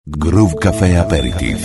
Groove Café Aperitif.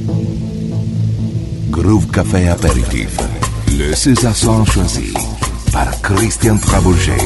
Groove Café Aperitif. Le César choisi. par Christian Travolgei.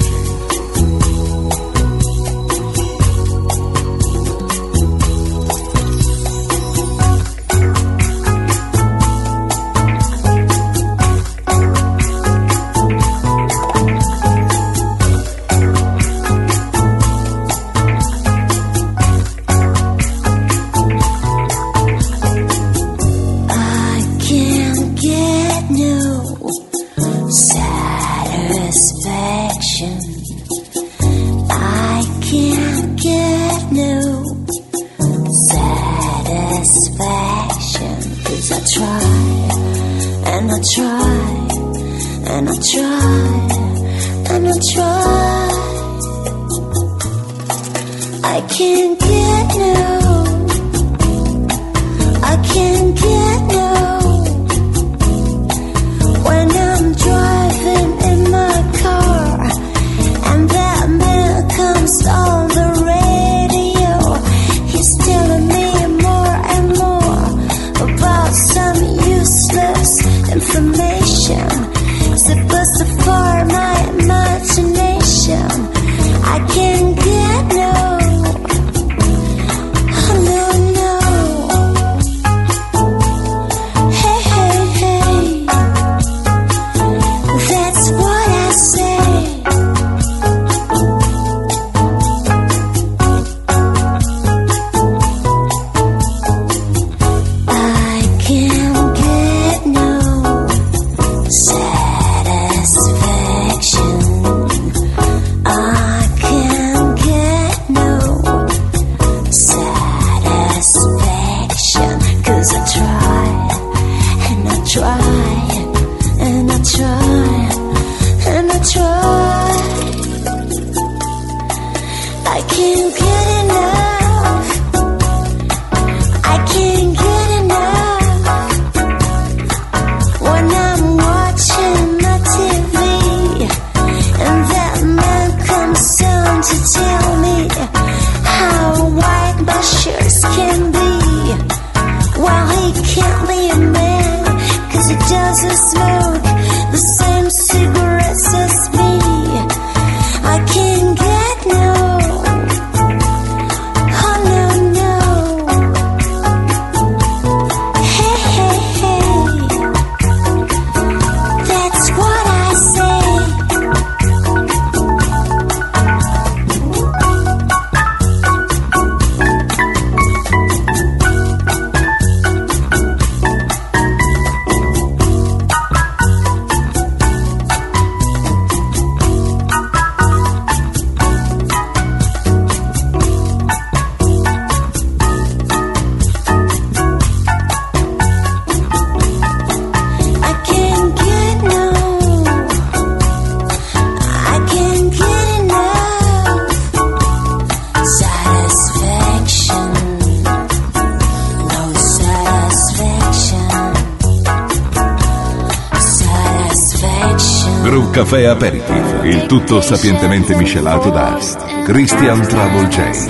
Caffè Aperitif, il tutto sapientemente miscelato da Christian Travolgei.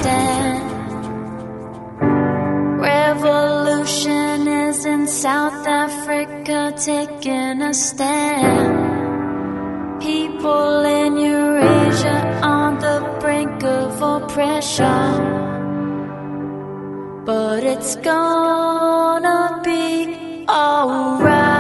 Revolution is in South Africa taking a stand. People in Eurasia on the brink of oppression. But it's gonna be alright.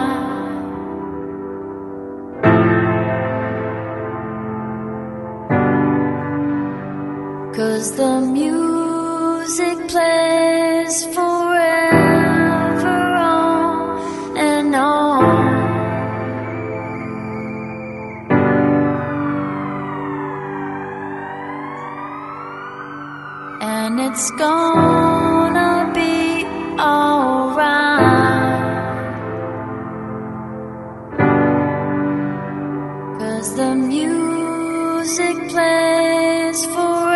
'Cause the music plays forever on and on. And it's gonna be alright. 'Cause the music plays forever.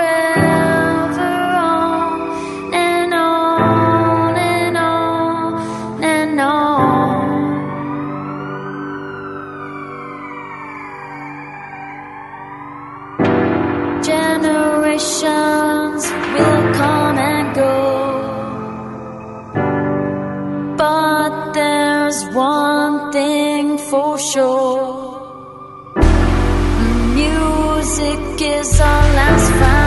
Generations will come and go, but there's one thing for sure. music is our last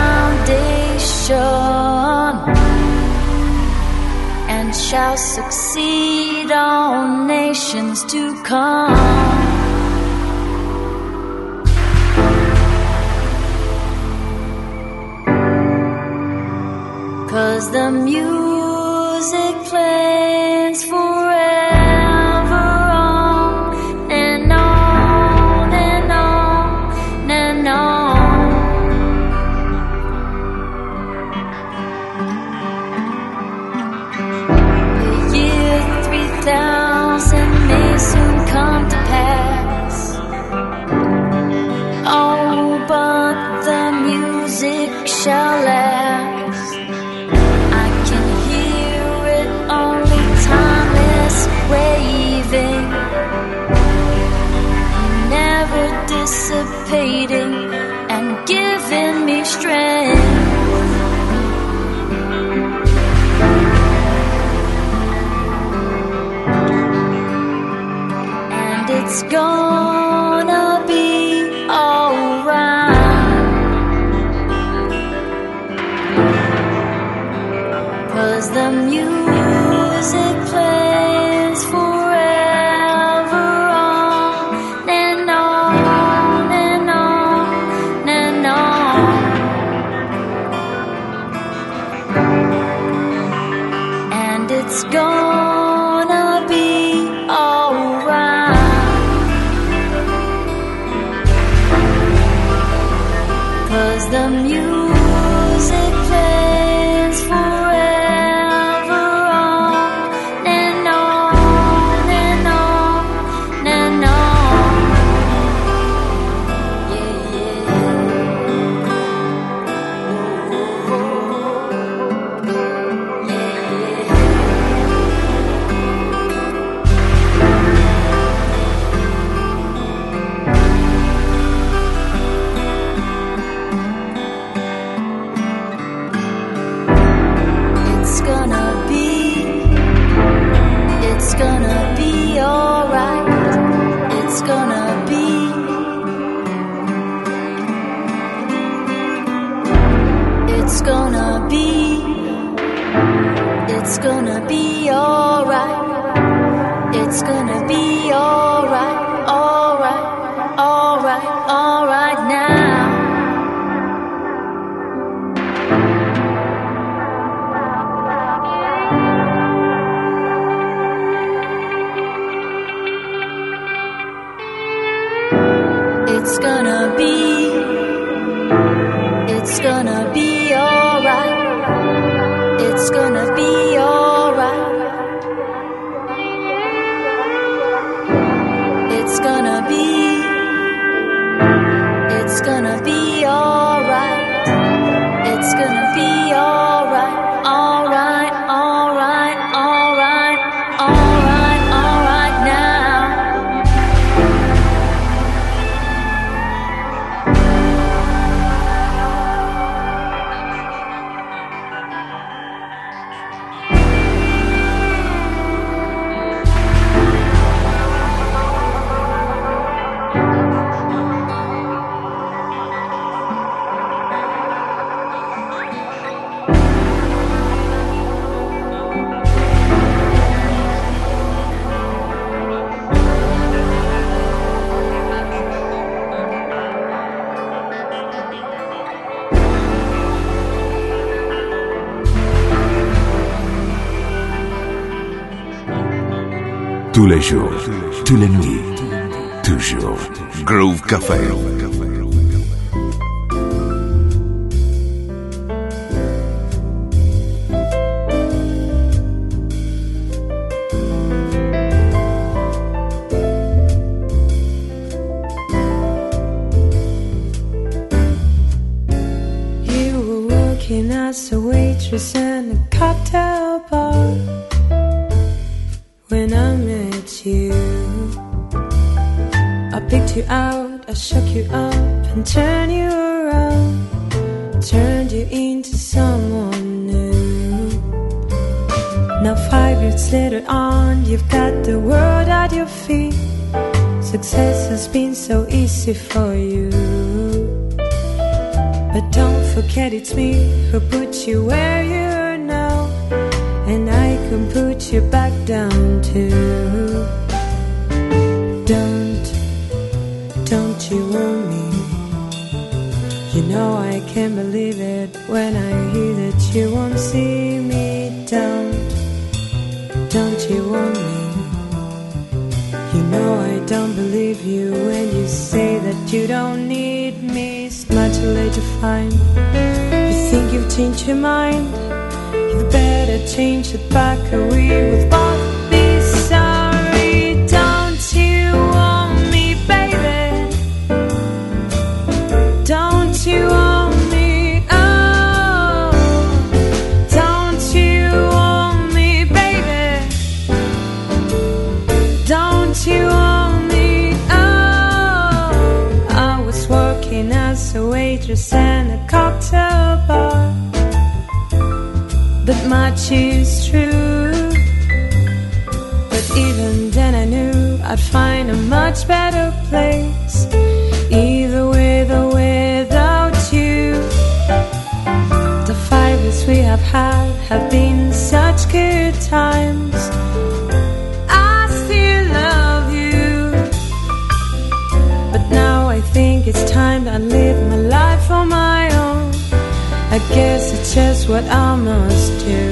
foundation, and shall succeed all nations to come. 'Cause the music plays forever on and on and on and on. The year 3000 may soon come to pass. Oh, but the music shall last. Waving, never dissipating, and giving me strength. And it's gonna be alright, 'cause the music plays forever on and on and on and on. And it's gonna be alright, 'cause the music plays forever on and on and on and on. Yeah, yeah. It's gonna be alright. It's gonna be. It's gonna be. It's gonna be alright. It's gonna be alright, alright, alright, alright now. It's gonna be. It's gonna be alright. It's gonna be alright. It's gonna be. It's gonna be alright. It's gonna be alright. Alright, alright, alright, alright, alright now. Tous les jours, tous les nuits, toujours. Groove Café. You were working as a waitress in a cocktail bar when I met you. I picked you out, I shook you up and turned you around, turned you into someone new. Now 5 years later on, you've got the world at your feet. Success has been so easy for you. forget it's me who put you where you are now, and I can put you back down too. Don't you want me? You know I can't believe it when I hear that you won't see me. Don't you want me? You know I don't believe you when you say that you don't need me. It's not too late to find. You think you've changed your mind? You better change it back, or we will both be sorry. Don't you want me, baby? Don't you want me? Oh, don't you want me, baby? Don't you want me? Oh, I was working as a waitress in a cocktail bar, but much is true. But even then I knew I'd find a much better place, either with or without you. The 5 years we have had have been such good times. I still love you, but now I think it's time that I live my life on my own. I guess it's just what I must do.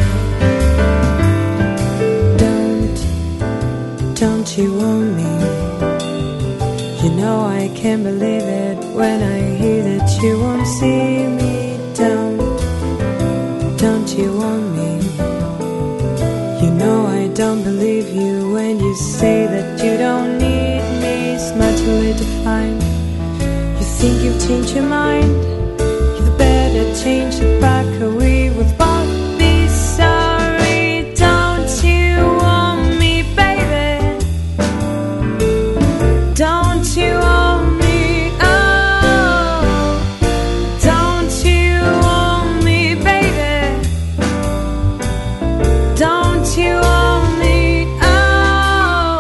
Don't you want me? You know I can't believe it when I hear that you won't see me. Don't you want me? You know I don't believe you when you say that you don't need me. It's not too late to find. You think you've changed your mind? Change it back, or we will both be sorry. Don't you want me, baby? Don't you want me? Oh, don't you want me, baby? Don't you want me? Oh.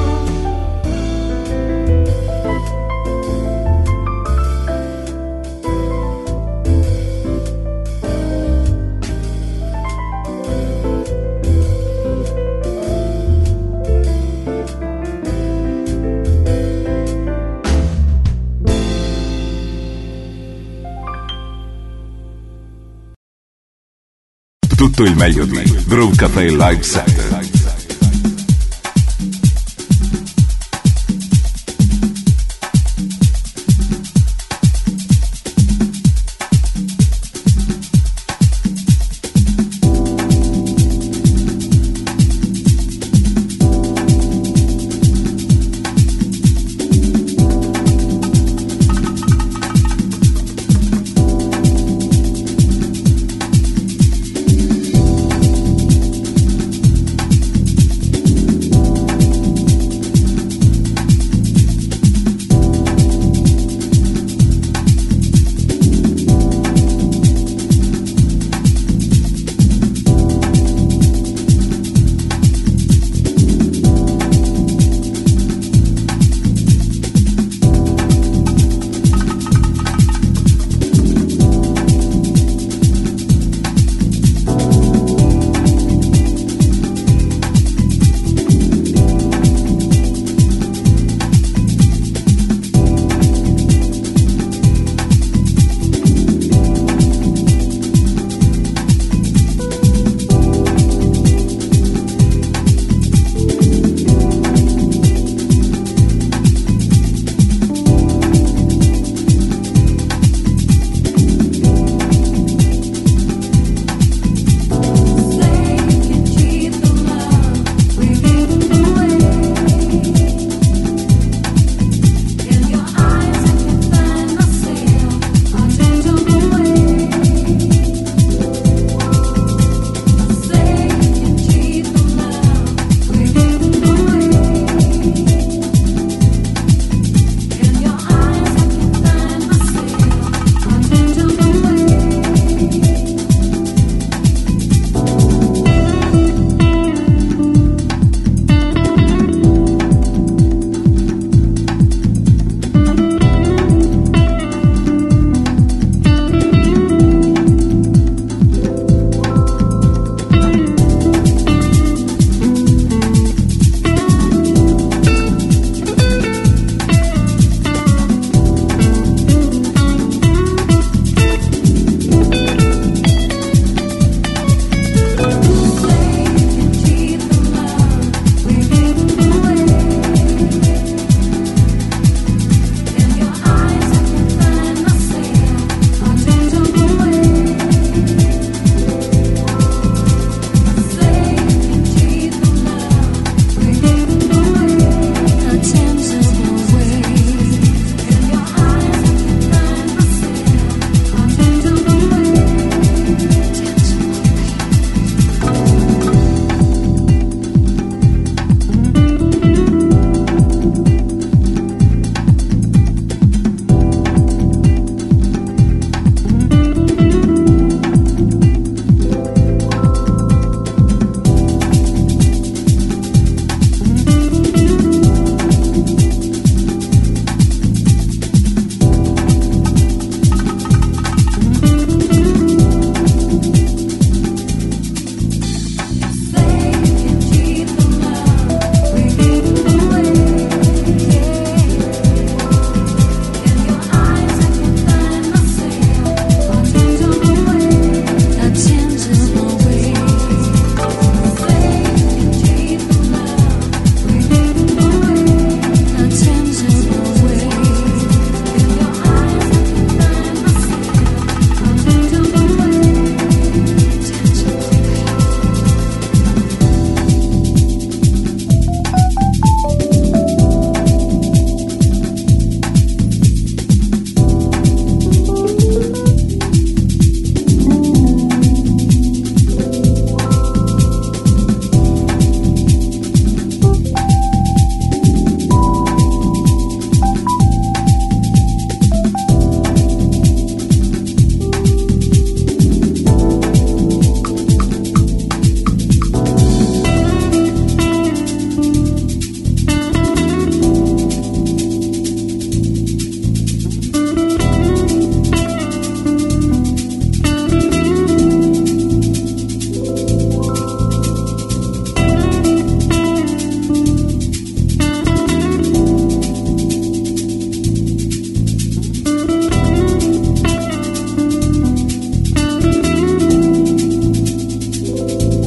Tutto il meglio di Groove Café Live Set.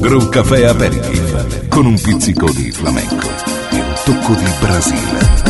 Brew Café Aperitif con un pizzico di flamenco e un tocco di Brasile.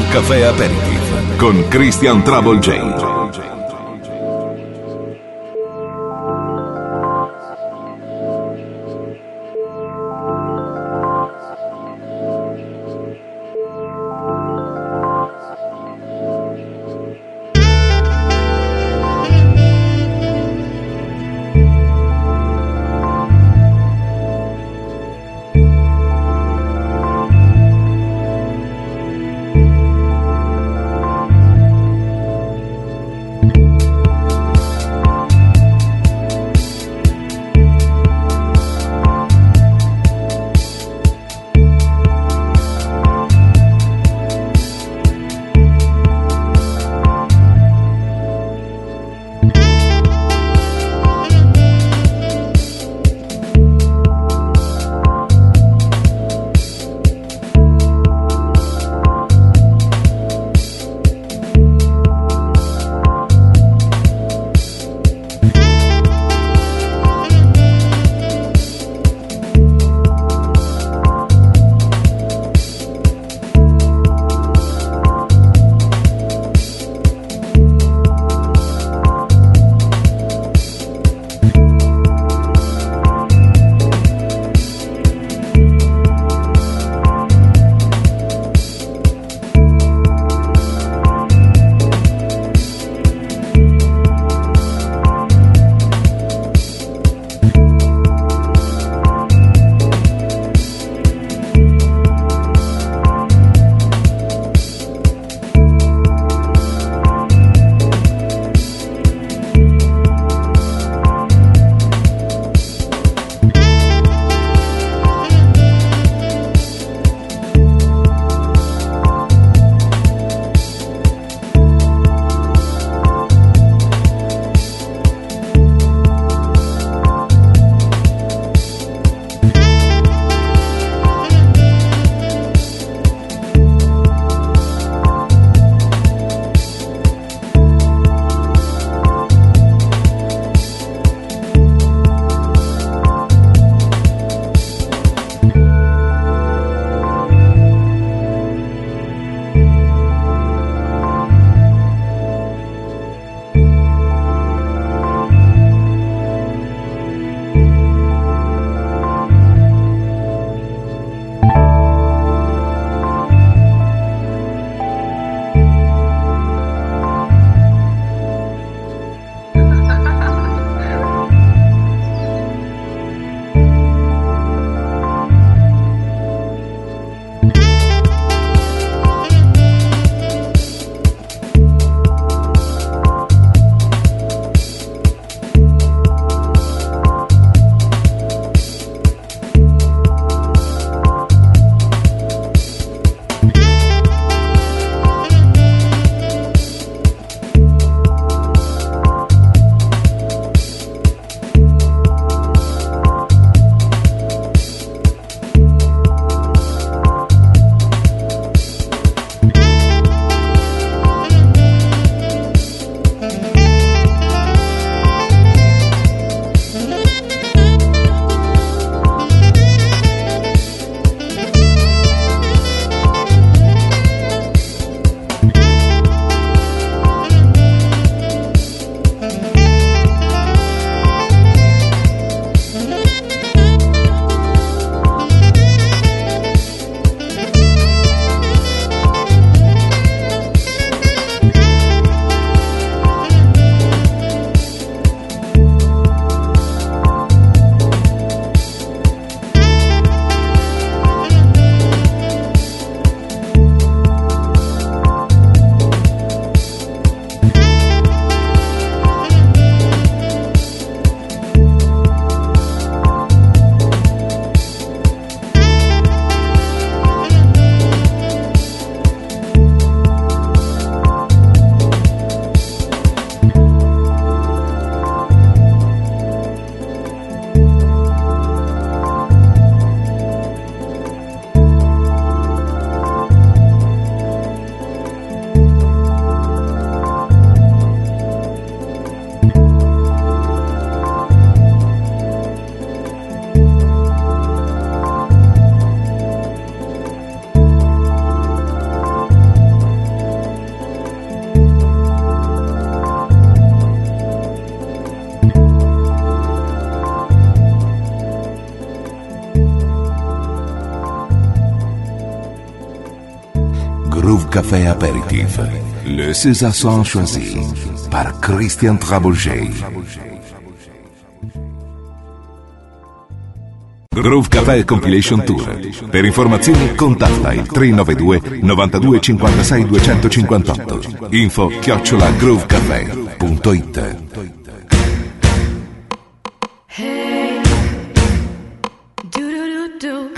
Caffè Aperitif con Christian Trouble J. Groove Café Apéritif. Le César choisi par Christian Trabouget. Groove Café Compilation Tour. Per informazioni contatta il 392 92 56 258. info@groovecafé.it. Hey, do do do do.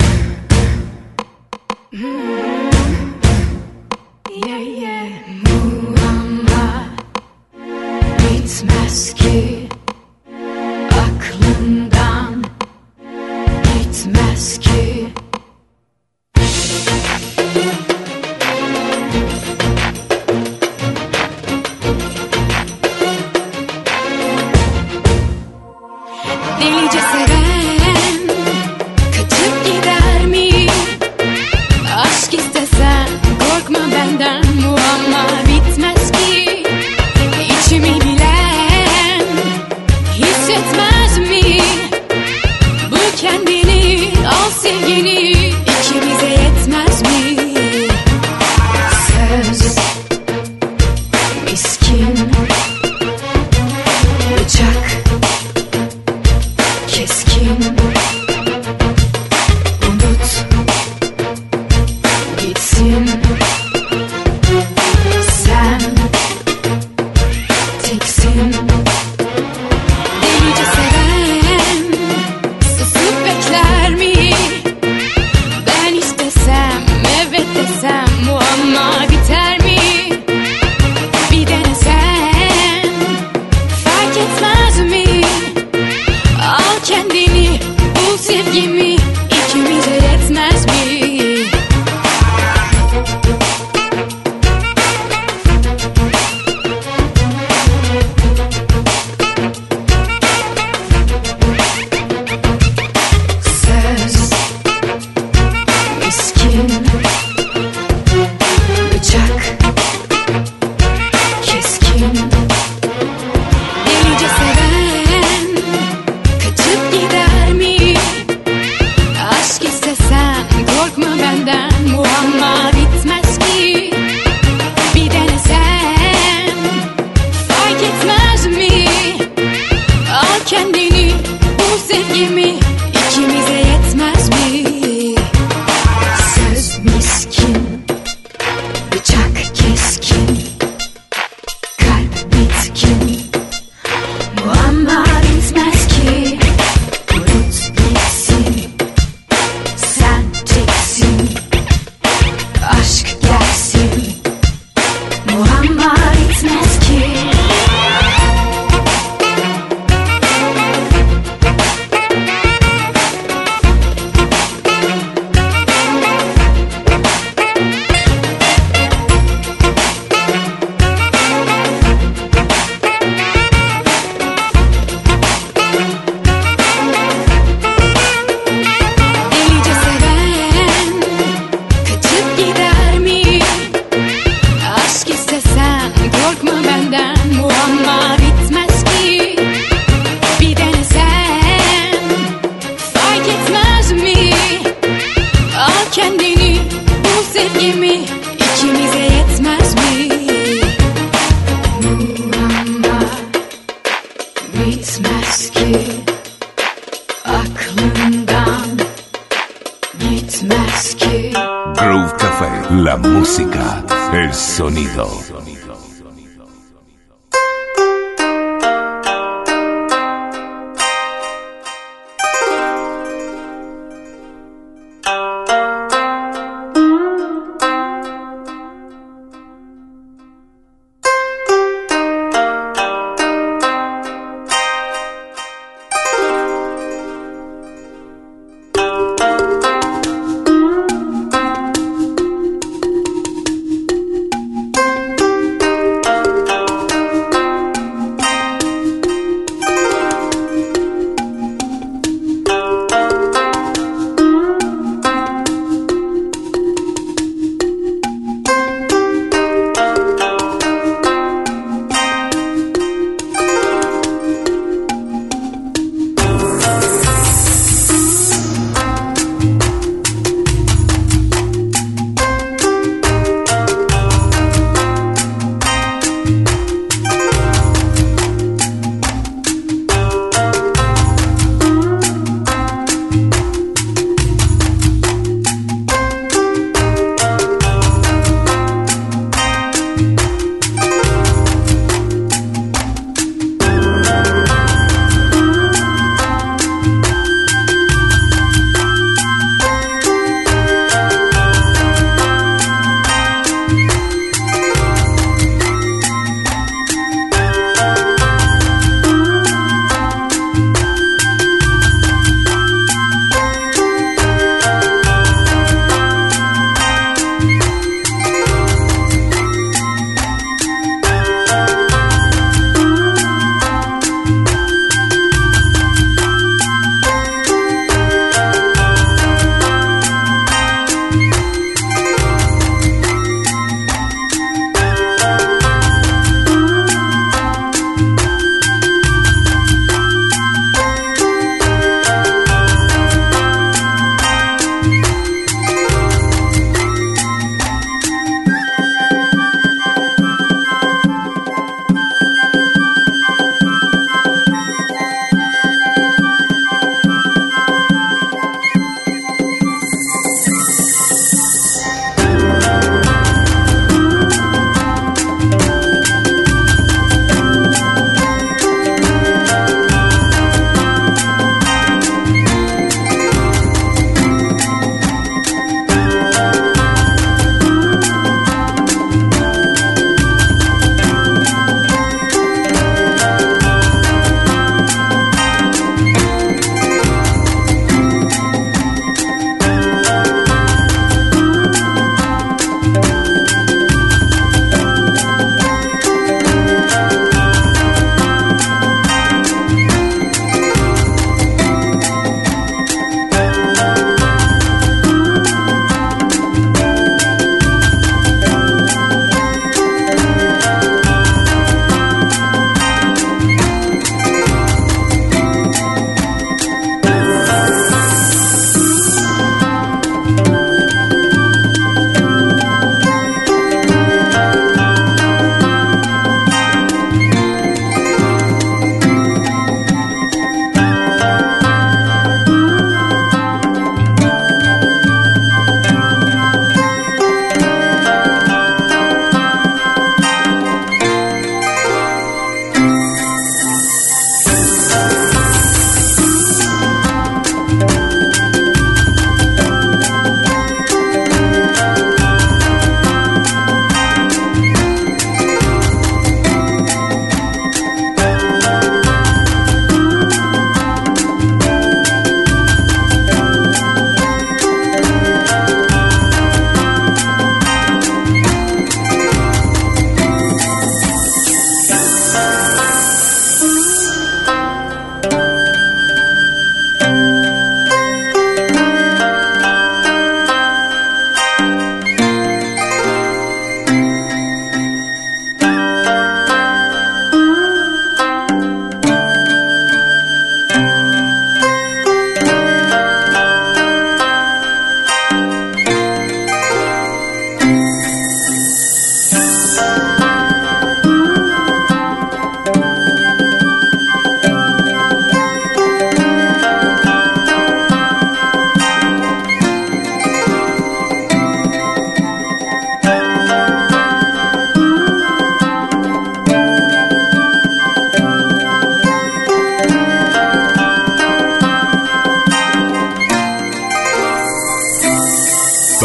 Yeah yeah. Muhammad bitmez ki aklından, gitmez ki. Delice seven kaçıp gider mi? Aşk istesen korkma benden, muamma bitmez ki. İçimi bilen hissetmez mi? Bul kendini, al sevgini, ikimize yetmez mi? Söz miskin, bıçak keskin. Unut gitsin, sen teksin. Delice seven susup bekler mi? Ben istesem, evet desem, muamma biter mi? Bir denesen fark etmez mi? Al kendini, bul sevgimi, ikimize yetmez mi? Söz miskin, bıçak keskin. Delice seven kaçıp gider mi? Aşk istesen korkma benden, muamma bitmez ki. Bir denesen fark etmez mi? Al kendini, bul sevgimi, ikimize yetmez mi? Söz miskin, bıçak keskin, kalp bitkin, muamma bitmez ki. Unut gitsin, sen teksin, aşk gelsin, muamma bitmez ki. Delice seven kaçıp gider mi? Aşk istesen korkma benden, muamma bitmez ki. Bir denesen fark etmez mi? Al kendini, bul sevgimi, ikimize yetmez mi? Muamma bitmez ki, aklından gitmez ki. Groove Café. La música, el sonido.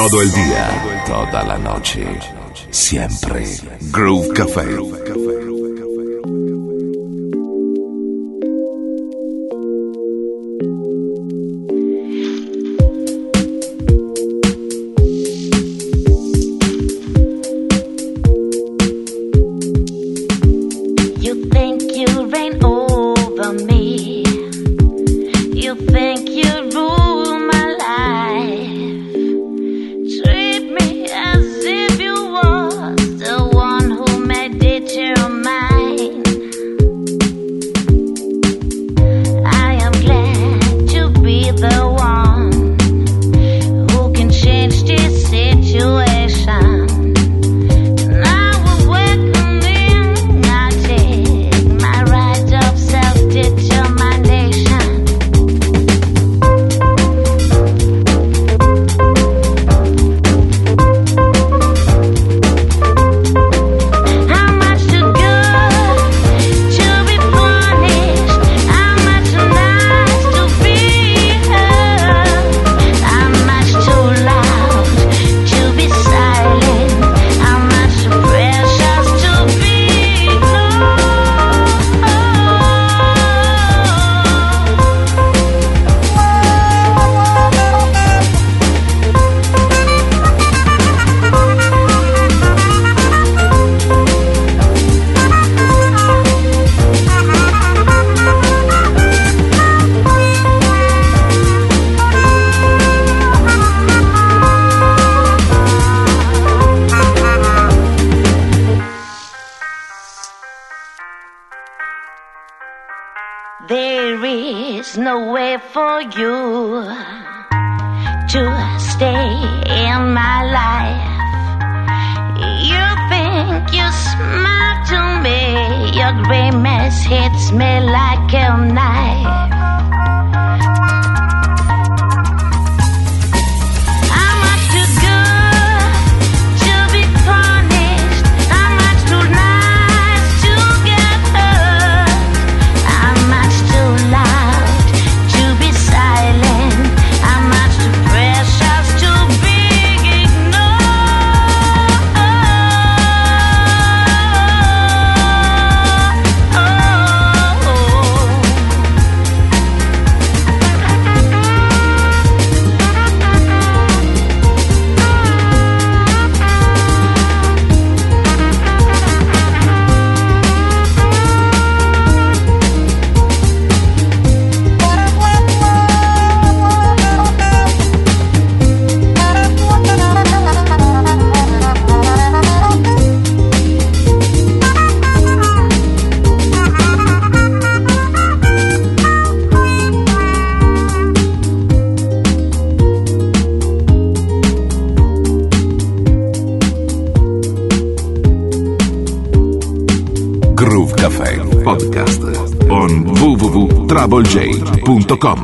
Todo el día, toda la noche, siempre. Groove Café. There is no way for you to stay in my life. You think you smile to me, your grimace hits me like a knife. Groove Café Podcast on www.troublej.com.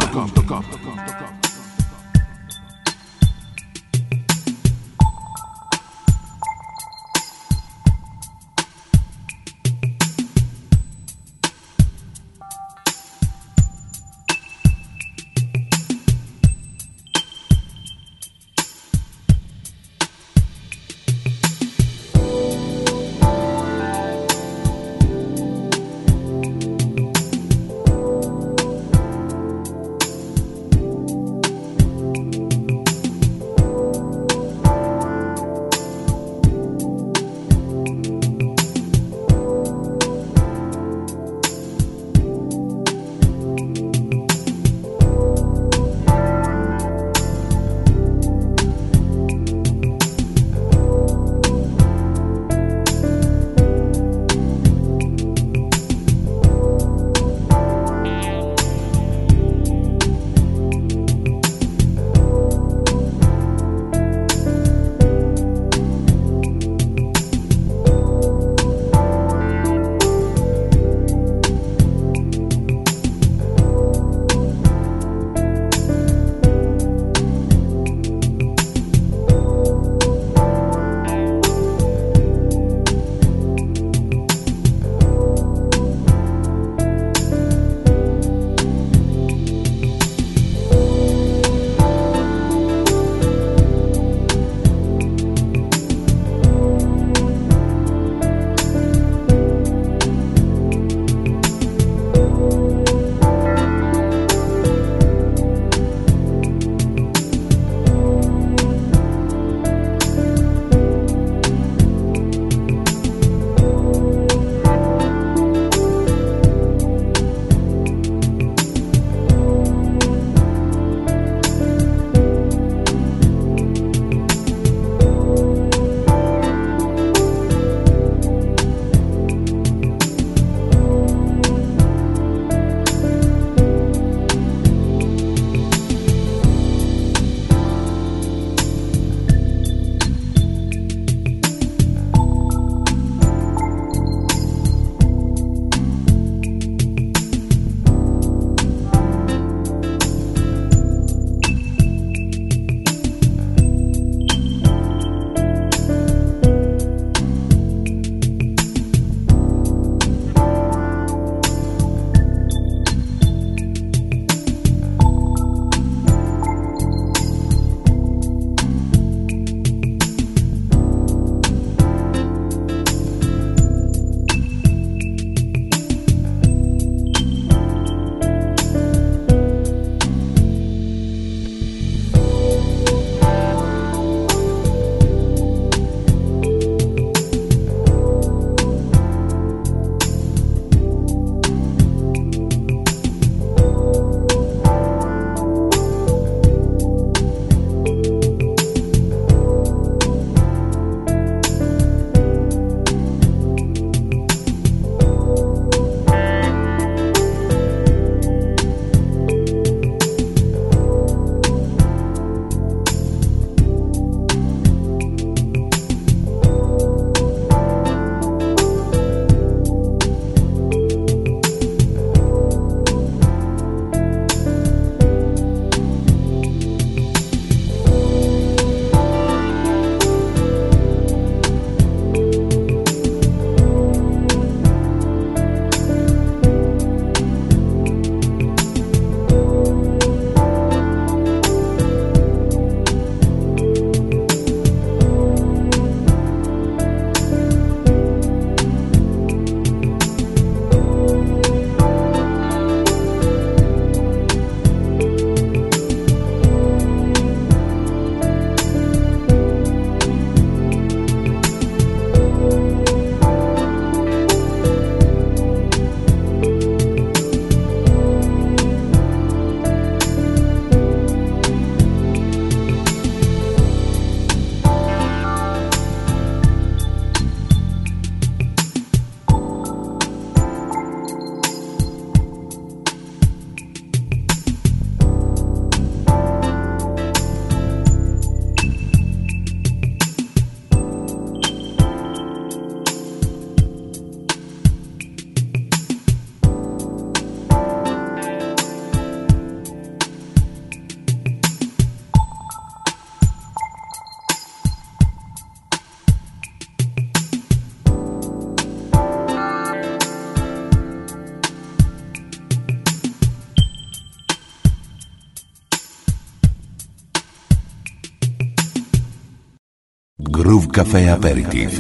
Groove Café Aperitif.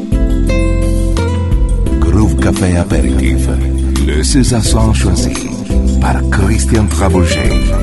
Café Apéritif, le César choisi. par Christian Trabouget.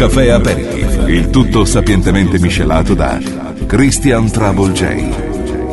Caffè Aperitif, il tutto sapientemente miscelato da Christian Trouble J.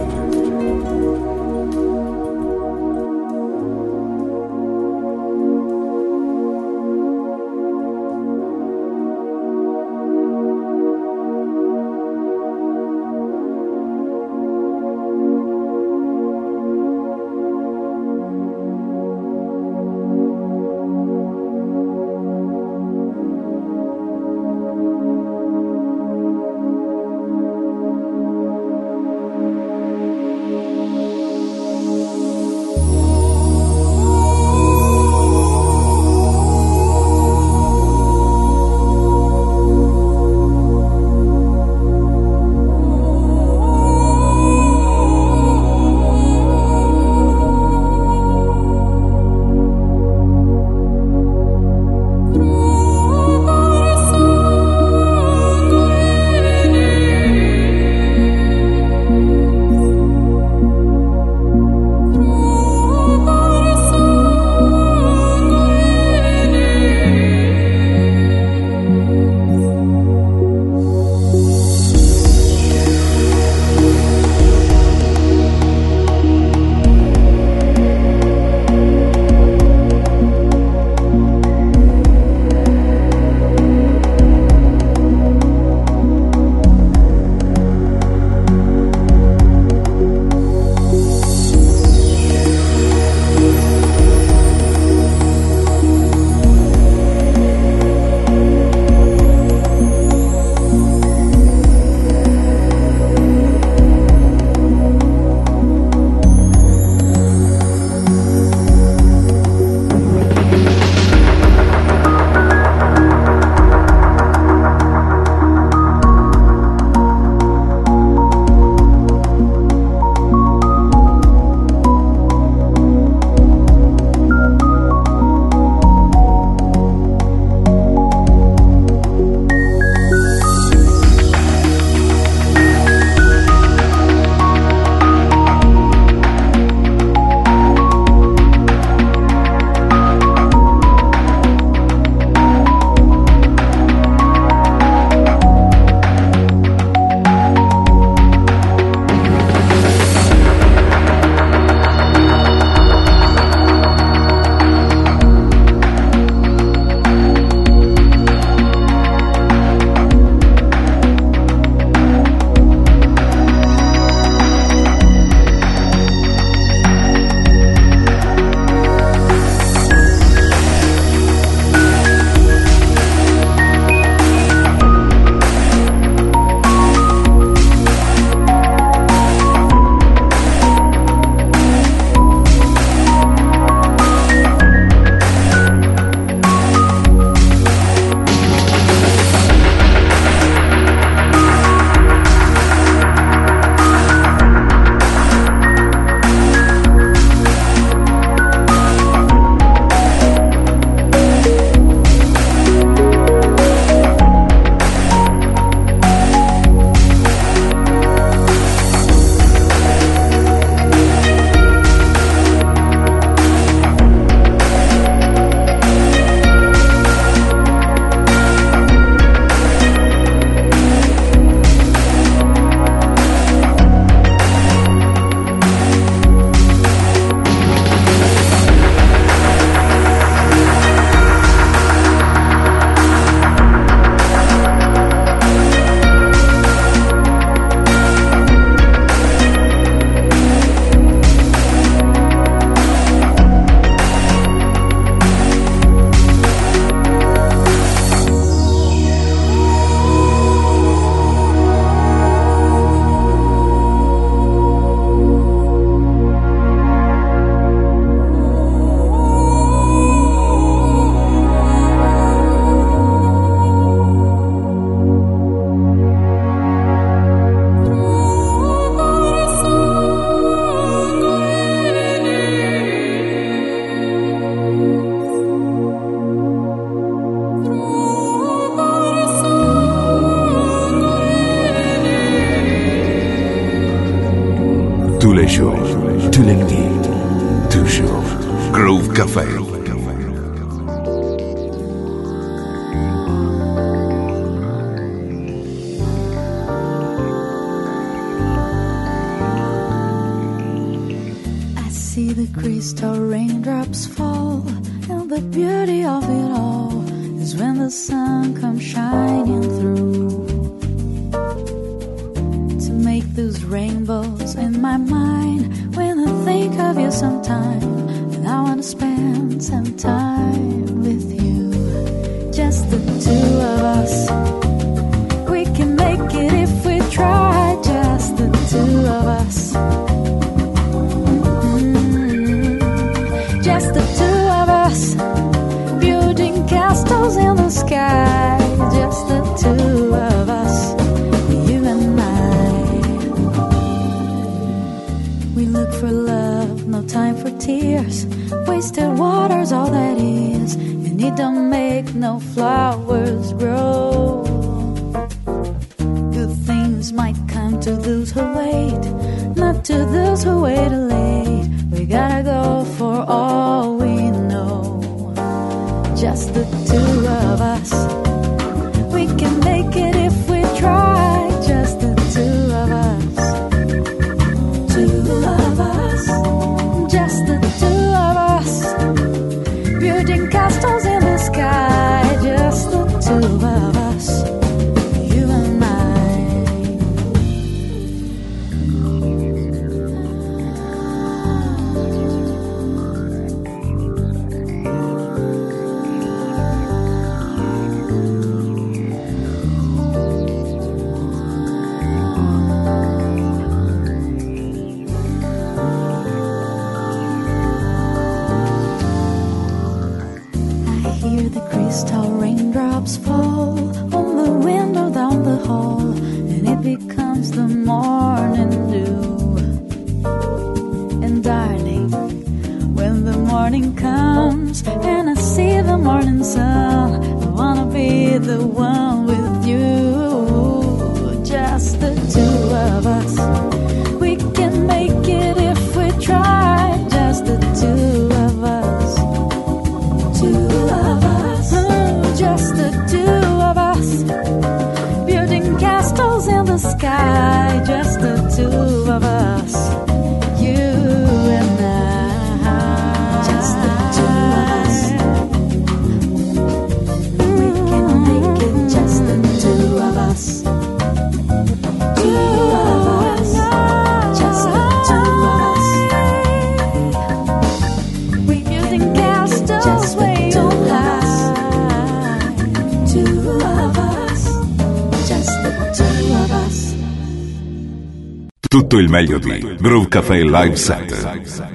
Tous les jours, tous les nuits, toujours. Groove Café. the crystal raindrops fall, and the beauty of it all is when the sun comes shining through to make those rainbows in my mind. When I think of you sometime, and I want to spend some time with you, just the two of us. We can make it if we try, just the two of us. Just the two of us, building castles in the sky. Just the two of us, you and I. We look for love, no time for tears. Wasted water's all that is, and it don't make no flowers grow. Good things might come to those who wait, not to those who wait late. We gotta go for all we know. Just the two of us. We can make it if we try. Just the two of us. Two of us. Just the two of us. Building castles in the sky. Just the two of us. You and I. Crystal raindrops fall on the window down the hall, and it becomes the morning dew. And darling, when the morning comes and I see the morning sun, I wanna be the one with you. Just the two of us. We can make it if we try. Just the two of us. Two of us. Just the two of us, building castles in the sky. Just the two of us, you and I. Just the two of us. We can make it. Just the two of us. Two of us. Just the two of us. We building castles. Just the two of us. Tutto il meglio di Groove Café Live Set.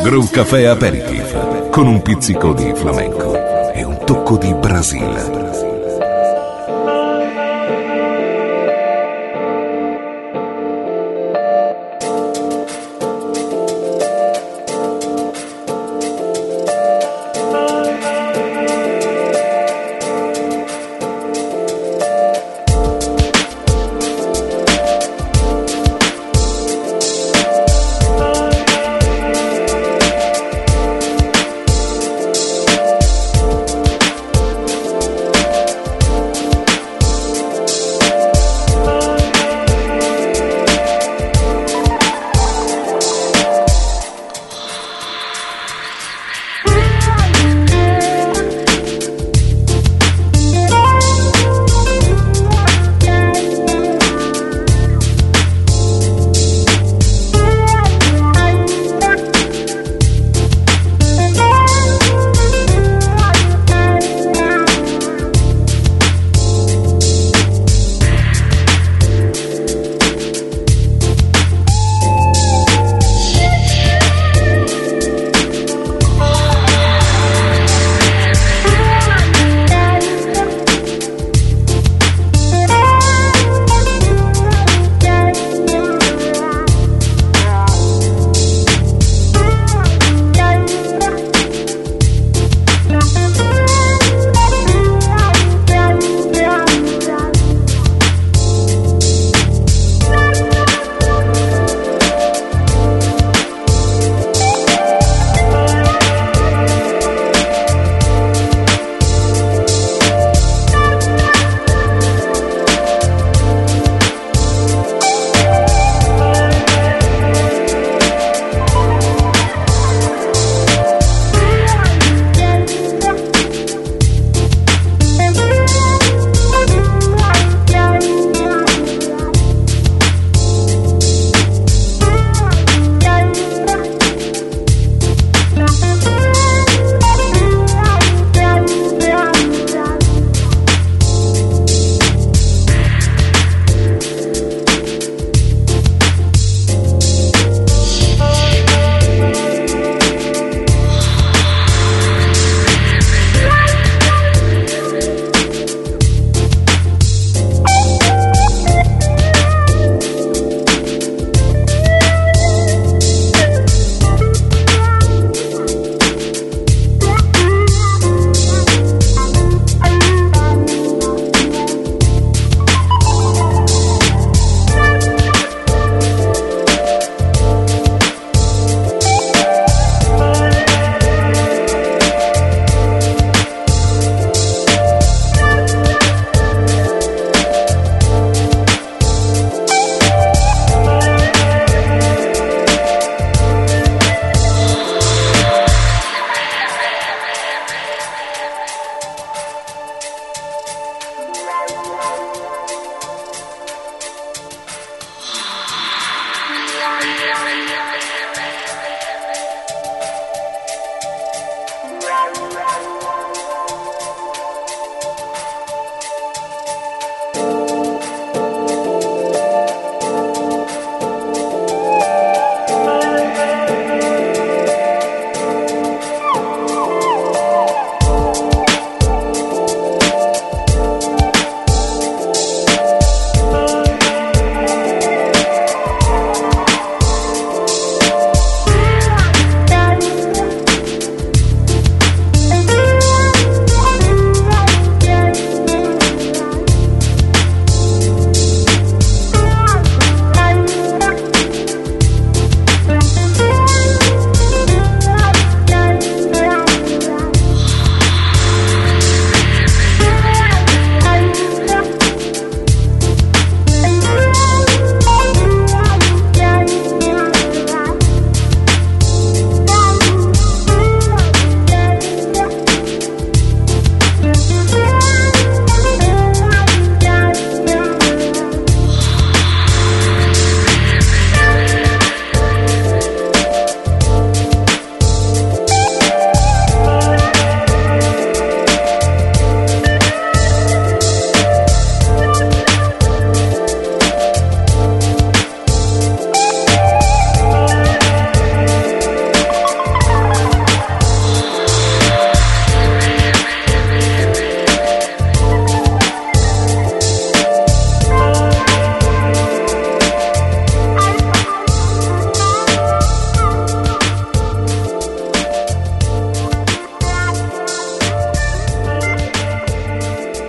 Groove Café Aperitif, con un pizzico di flamenco e un tocco di Brasile.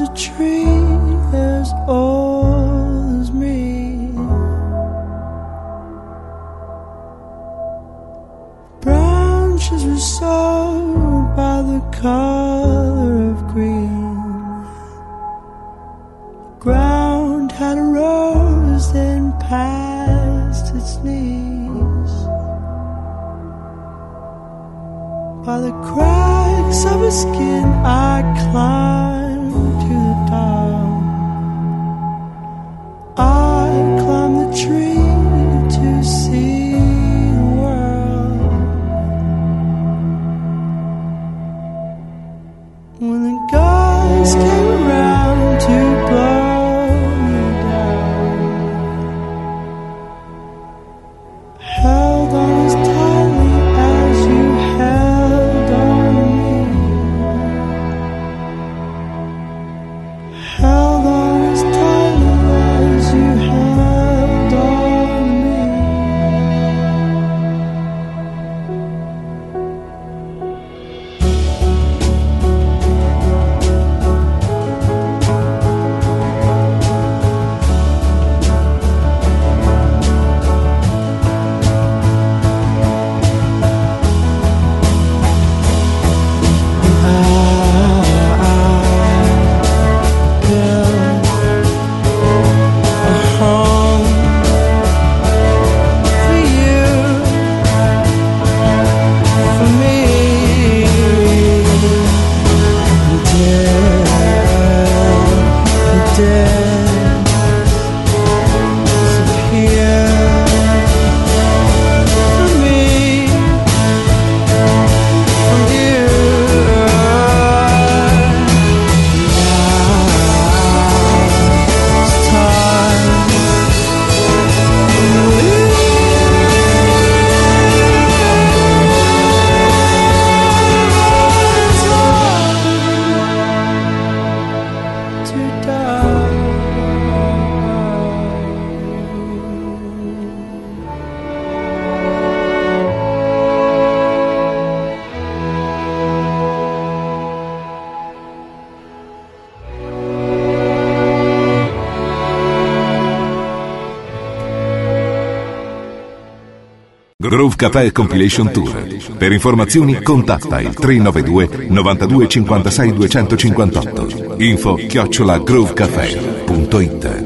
a tree as old as me. Branches were sold by the color of green. Ground had a rose then past its knees. By the cracks of her skin I climbed to the top. I climbed the tree to see the world. When the guys came around to blow me down, held on as tightly as you held on me. Held on as tightly as you held on me. Groove Café Compilation Tour. Per informazioni contatta il 392 92 56 258. info@groovecafé.it.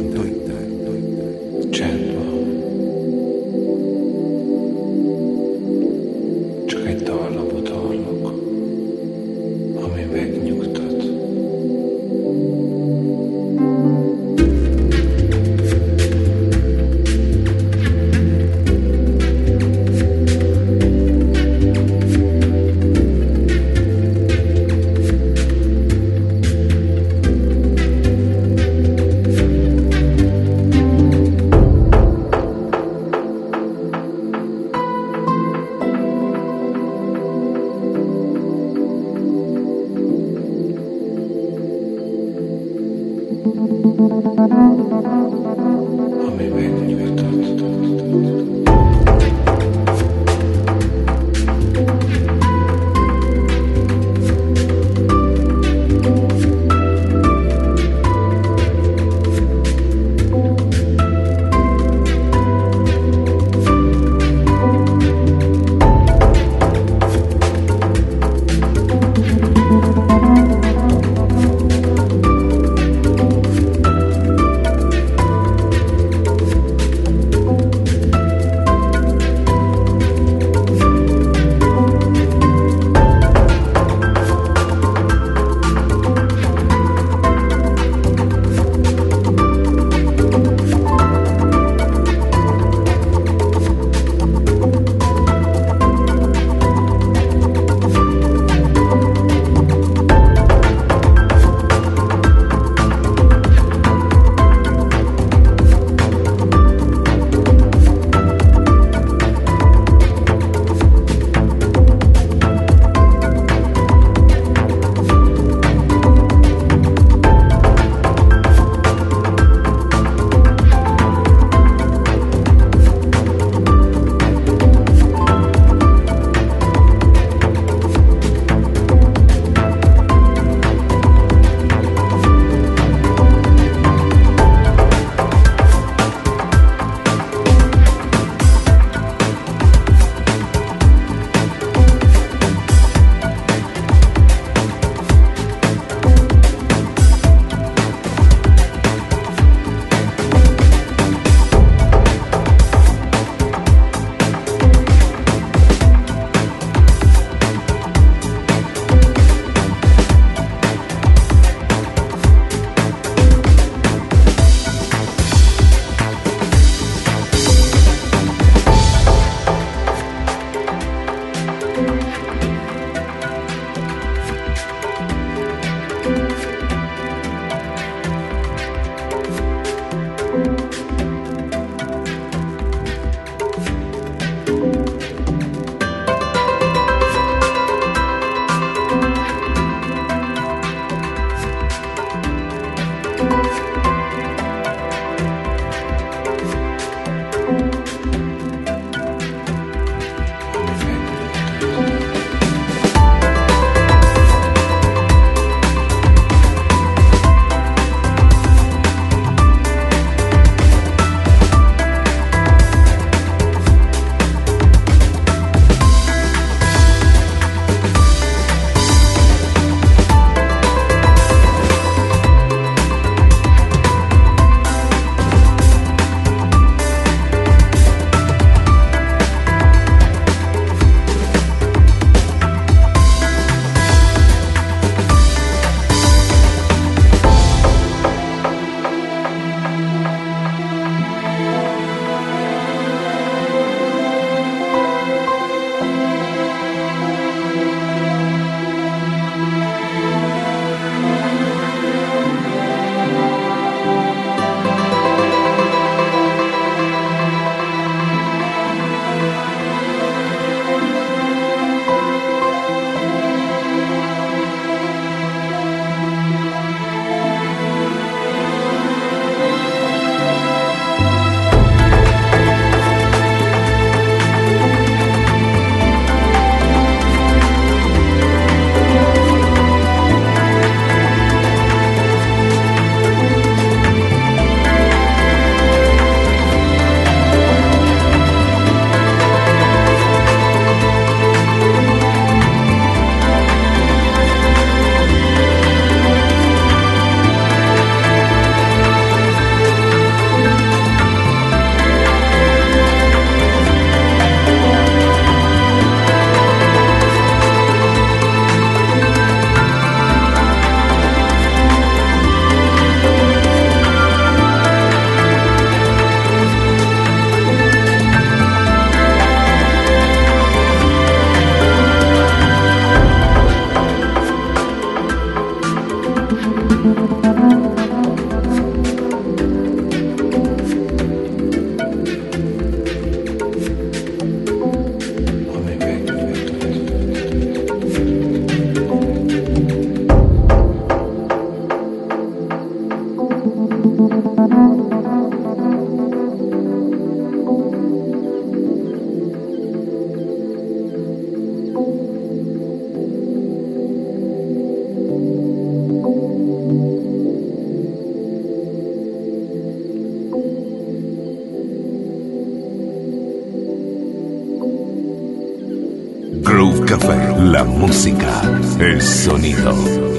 Groove Café, la música, el sonido.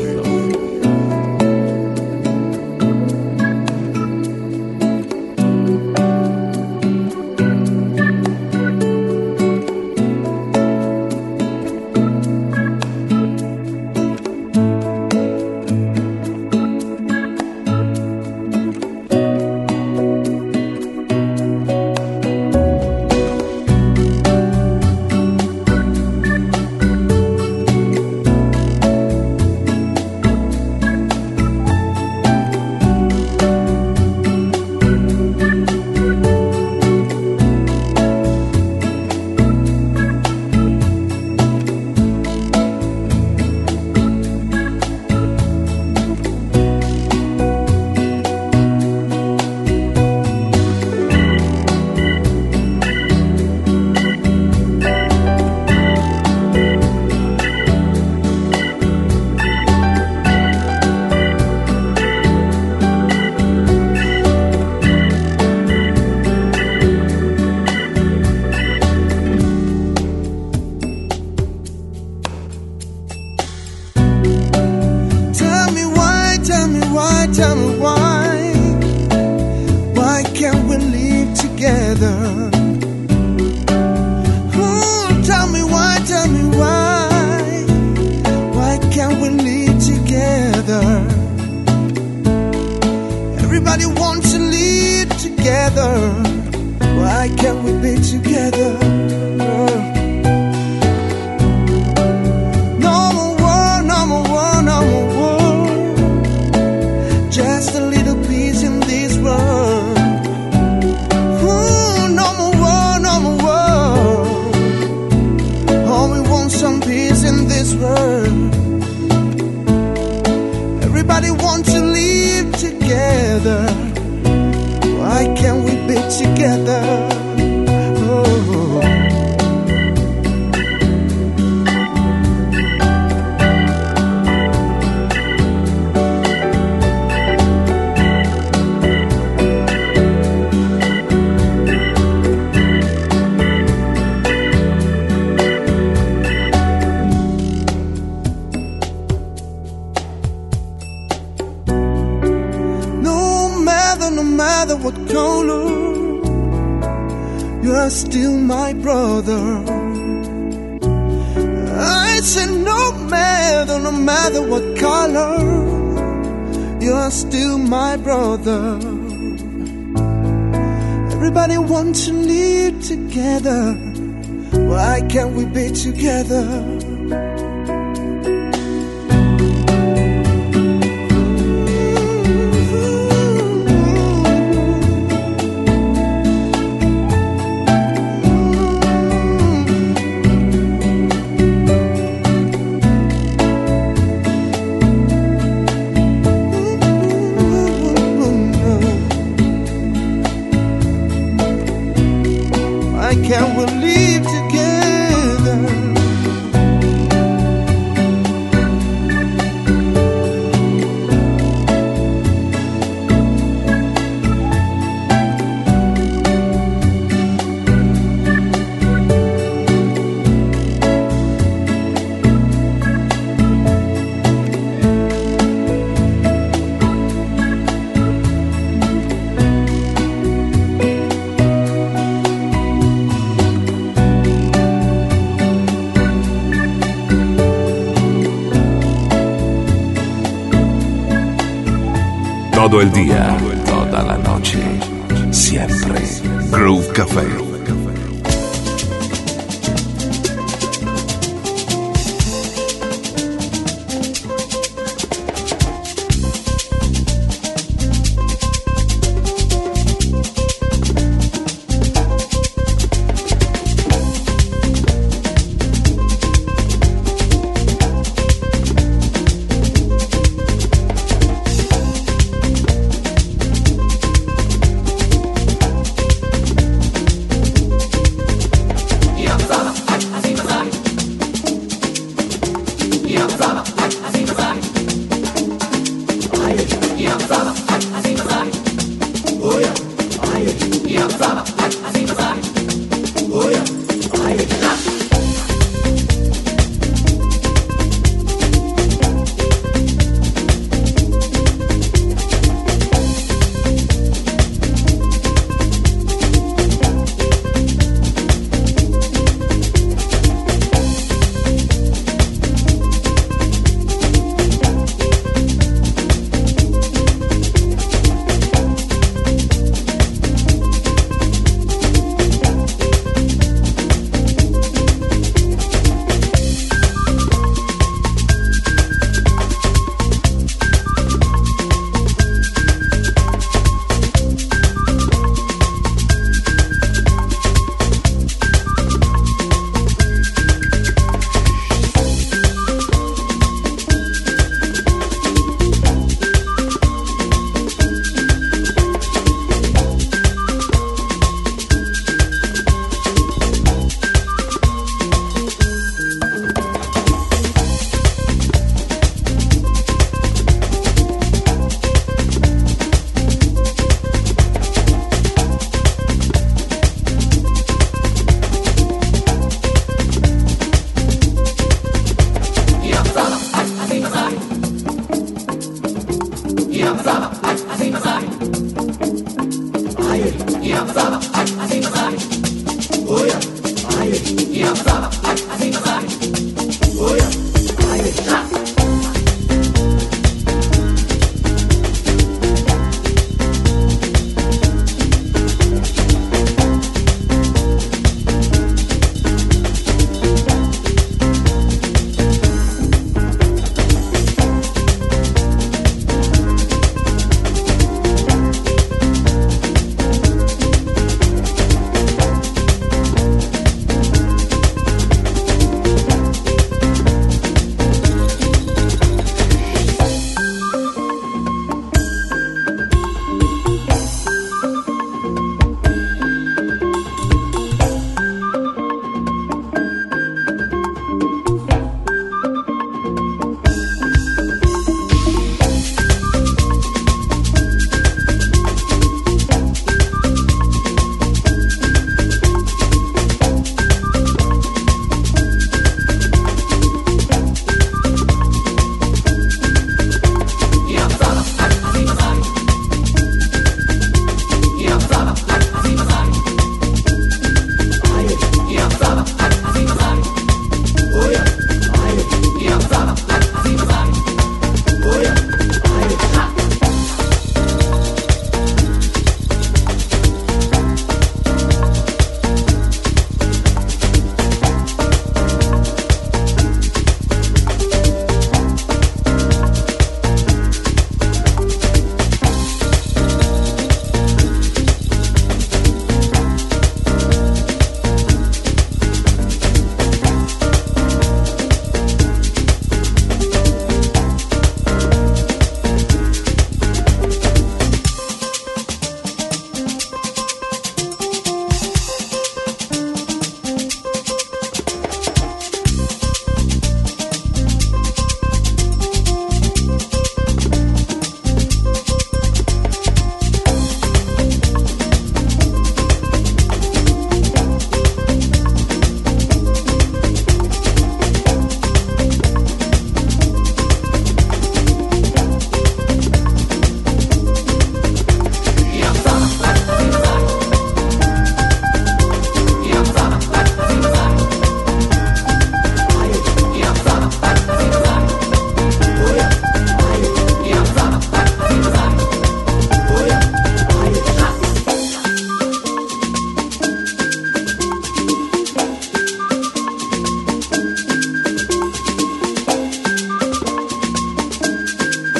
Todo el día, toda la noche, siempre. Groove Café.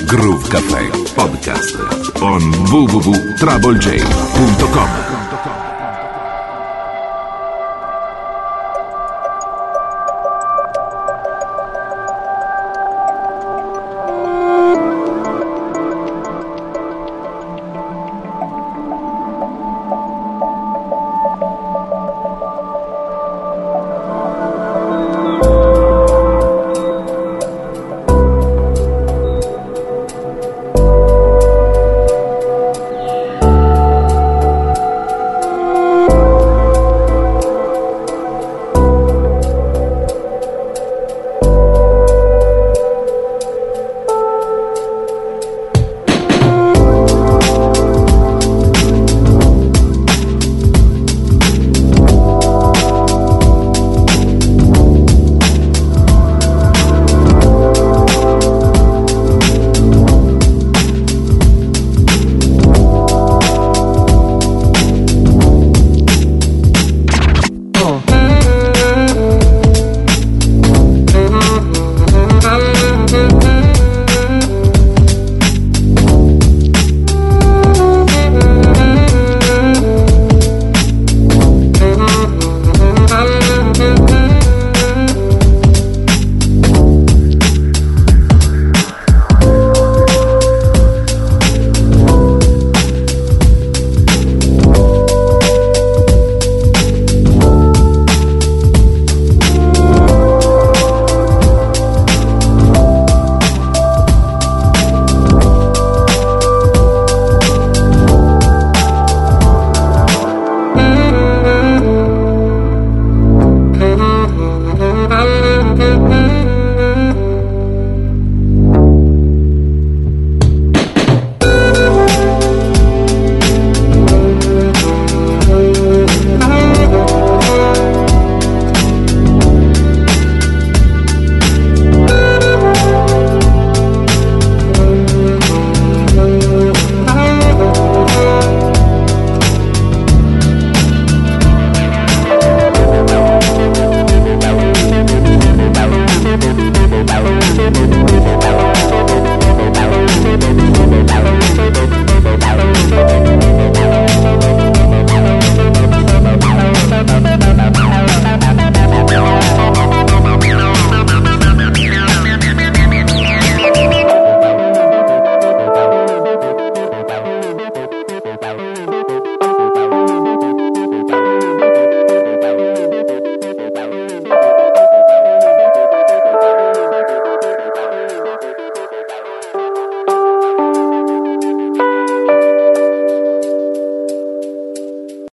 Groove Café Podcast on www.troublej.com.